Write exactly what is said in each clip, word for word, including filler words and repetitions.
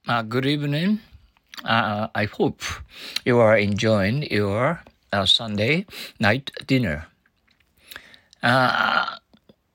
Uh, good evening. Uh, I hope you are enjoying your uh, Sunday night dinner. Uh,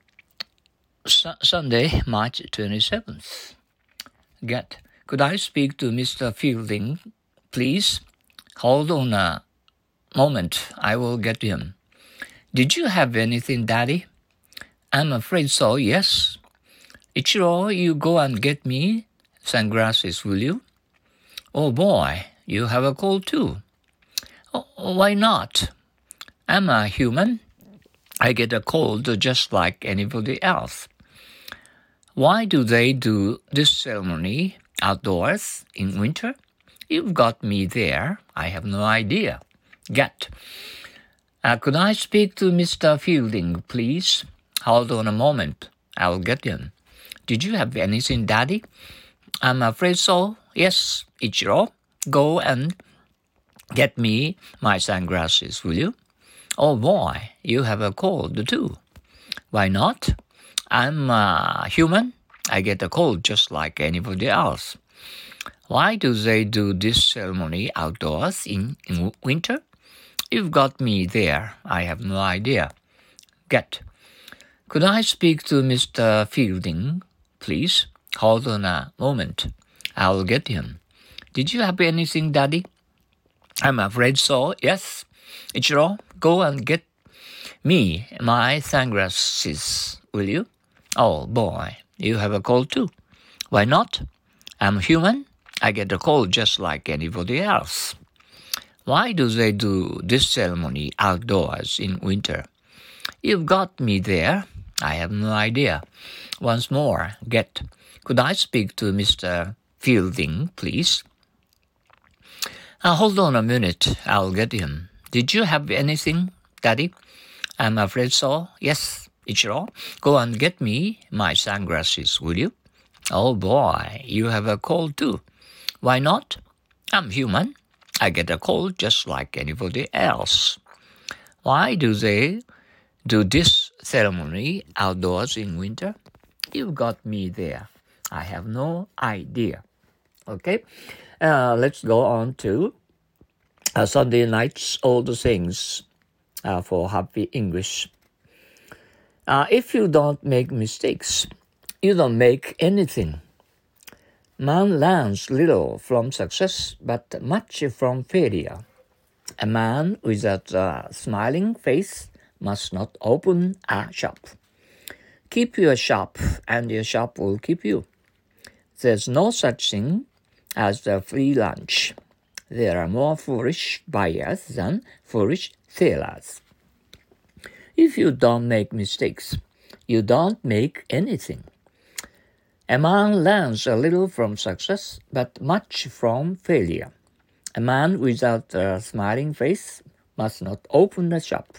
Su- Sunday, March twenty-seventh. Get. Could I speak to Mister Fielding, please? Hold on a moment. I will get him. Did you have anything, Daddy? I'm afraid so, yes. Ichiro, you go and get me sunglasses, will you? Oh boy, you have a cold too. Oh, why not? I'm a human. I get a cold just like anybody else. Why do they do this ceremony outdoors in winter? You've got me there. I have no idea. Get. Uh, could I speak to Mister Fielding, please? Hold on a moment. I'll get him. Did you have anything, Daddy? I'm afraid so. Yes, Ichiro. Go and get me my sunglasses, will you? Oh boy, you have a cold too. Why not? I'm a human. I get a cold just like anybody else. Why do they do this ceremony outdoors in, in winter? You've got me there. I have no idea. Get. Could I speak to Mister Fielding, please? Hold on a moment. I'll get him. Did you have anything, Daddy? I'm afraid so, yes. Ichiro, go and get me my sunglasses, will you? Oh boy, you have a cold too. Why not? I'm human. I get a cold just like anybody else. Why do they do this ceremony outdoors in winter? You've got me there. I have no idea. Once more, get. Could I speak to Mister Fielding, please? Uh, hold on a minute. I'll get him. Did you have anything, Daddy? I'm afraid so. Yes, Ichiro. Go and get me my sunglasses, will you? Oh boy, you have a cold too. Why not? I'm human. I get a cold just like anybody else. Why do they do this ceremony outdoors in winter? You've got me there. I have no idea. Okay, uh, let's go on to uh, Sunday night's All the Things uh, for Happy English. Uh, if you don't make mistakes, you don't make anything. Man learns little from success, but much from failure. A man with a smiling face must not open a shop. Keep your shop, and your shop will keep you. There's no such thing as a free lunch. There are more foolish buyers than foolish sellers. If you don't make mistakes, you don't make anything. A man learns a little from success, but much from failure. A man without a smiling face must not open a shop.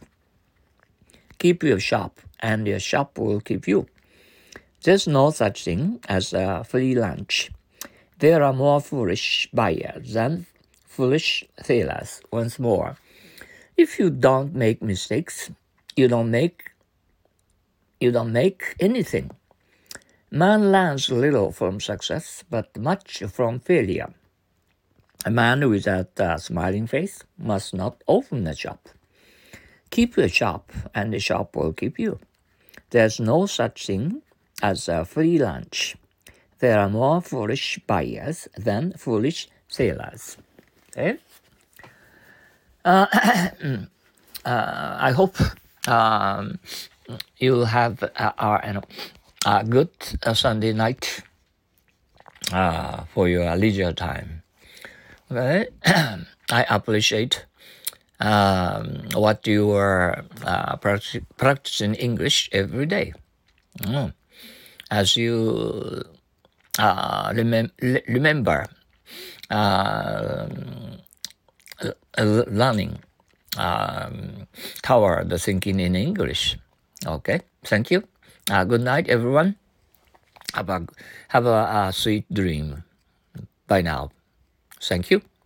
Keep your shop, and your shop will keep you. There's no such thing as a free lunch. There are more foolish buyers than foolish sellers. Once more, if you don't make mistakes, you don't make you don't make anything. Man learns little from success, but much from failure. A man without a smiling face must not open a shop. Keep your shop, and the shop will keep you. There's no such thing as a free lunch. There are more foolish buyers than foolish sellers. Okay? Uh, uh, I hope um, you have uh, uh, you know, a good uh, Sunday night uh, for your leisure time. Okay? I appreciate um, what you are uh, practic- practicing English every day. Mm. As you uh, remem- remember uh, learning um, toward the thinking in English. Okay, thank you. Uh, good night, everyone. Have a, have a, a sweet dream. Bye now. Thank you.